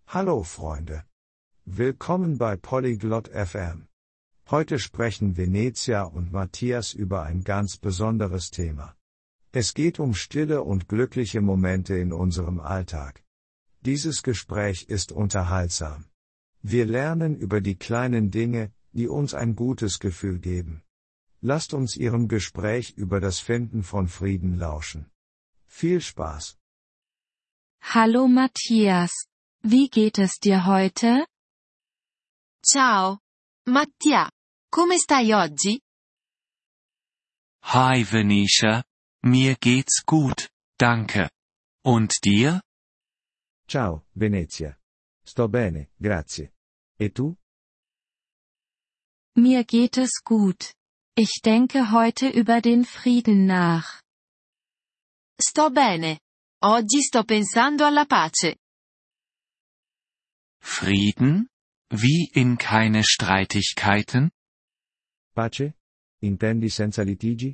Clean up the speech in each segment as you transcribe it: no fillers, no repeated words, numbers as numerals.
Hallo Freunde. Willkommen bei Polyglot FM. Heute sprechen Venezia und Matthias über ein ganz besonderes Thema. Es geht um stille und glückliche Momente in unserem Alltag. Dieses Gespräch ist unterhaltsam. Wir lernen über die kleinen Dinge, die uns ein gutes Gefühl geben. Lasst uns Ihrem Gespräch über das Finden von Frieden lauschen. Viel Spaß! Hallo Matthias. Wie geht es dir heute? Ciao. Mattia. Come stai oggi? Hi Venetia. Mir geht's gut, danke. Und dir? Ciao, Venezia. Sto bene, grazie. E tu? Mir geht es gut. Ich denke heute über den Frieden nach. Sto bene. Oggi sto pensando alla pace. Frieden? Wie in keine Streitigkeiten? Pace? Intendi senza litigi?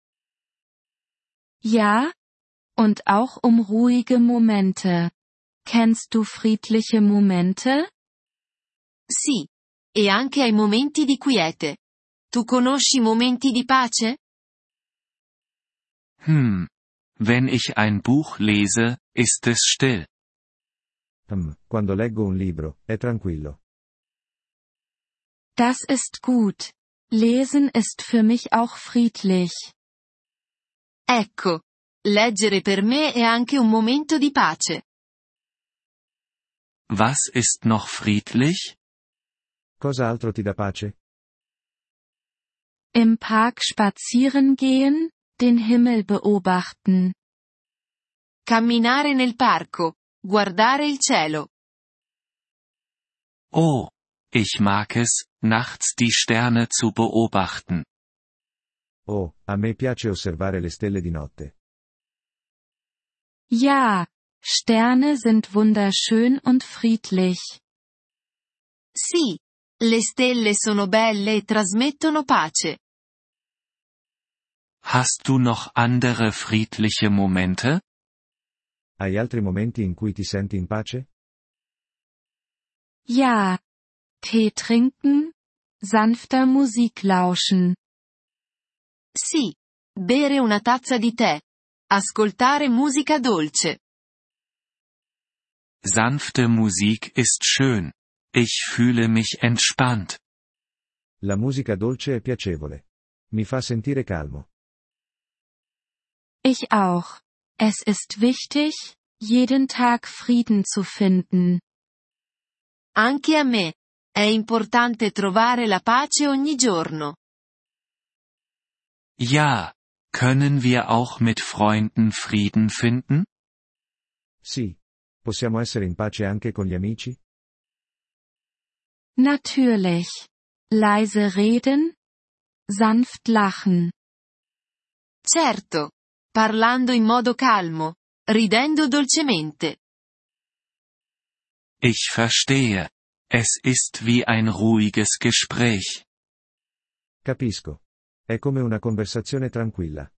Ja? Und auch um ruhige Momente. Kennst du friedliche Momente? Sì. E anche ai momenti di quiete. Tu conosci momenti di pace? Wenn ich ein Buch lese, ist es still. Quando leggo un libro, è tranquillo. Das ist gut. Lesen ist für mich auch friedlich. Ecco. Leggere per me è anche un momento di pace. Was ist noch friedlich? Cosa altro ti dà pace? Im Park spazieren gehen, den Himmel beobachten. Camminare nel parco. Guardare il cielo. Oh, ich mag es, nachts die Sterne zu beobachten. Oh, a me piace osservare le stelle di notte. Ja, Sterne sind wunderschön und friedlich. Sì. Le stelle sono belle e trasmettono pace. Hast du noch andere friedliche Momente? Hai altri momenti in cui ti senti in pace? Ja. Tee trinken, sanfter Musik lauschen. Sì. Bere una tazza di tè. Ascoltare musica dolce. Sanfte Musik ist schön. Ich fühle mich entspannt. La musica dolce è piacevole. Mi fa sentire calmo. Ich auch. Es ist wichtig, jeden Tag Frieden zu finden. Anche a me. È importante trovare la pace ogni giorno. Ja, können wir auch mit Freunden Frieden finden? Sì. Possiamo essere in pace anche con gli amici? Natürlich. Leise reden, sanft lachen. Certo. Parlando in modo calmo. Ridendo dolcemente. Ich verstehe. Es ist wie ein ruhiges Gespräch. Capisco. È come una conversazione tranquilla.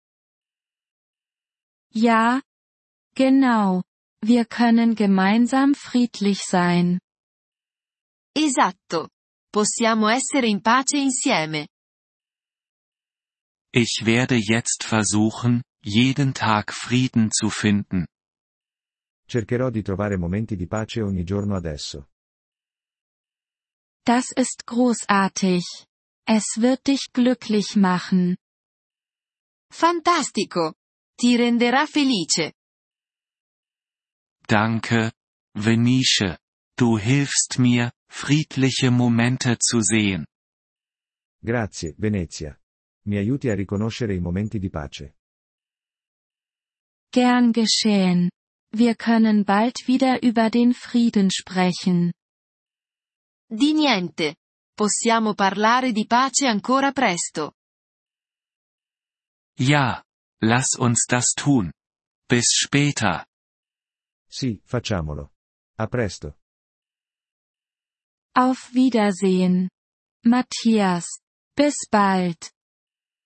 Ja. Genau. Wir können gemeinsam friedlich sein. Esatto. Possiamo essere in pace insieme. Ich werde jetzt versuchen, jeden Tag Frieden zu finden. Cercherò di trovare momenti di pace ogni giorno adesso. Das ist großartig. Es wird dich glücklich machen. Fantastico. Ti renderà felice. Danke, Venetia. Du hilfst mir, friedliche Momente zu sehen. Grazie, Venezia. Mi aiuti a riconoscere i momenti di pace. Gern geschehen. Wir können bald wieder über den Frieden sprechen. Di niente. Possiamo parlare di pace ancora presto. Ja, lass uns das tun. Bis später. Sì, facciamolo. A presto. Auf Wiedersehen. Matthias. Bis bald.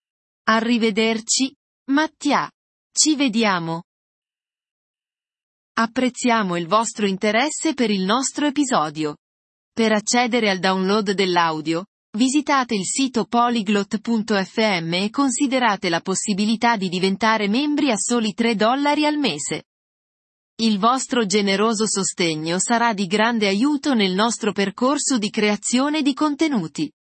Arrivederci, Mattia. Ci vediamo. Apprezziamo il vostro interesse per il nostro episodio. Per accedere al download dell'audio, visitate il sito polyglot.fm e considerate la possibilità di diventare membri a soli $3 al mese. Il vostro generoso sostegno sarà di grande aiuto nel nostro percorso di creazione di contenuti.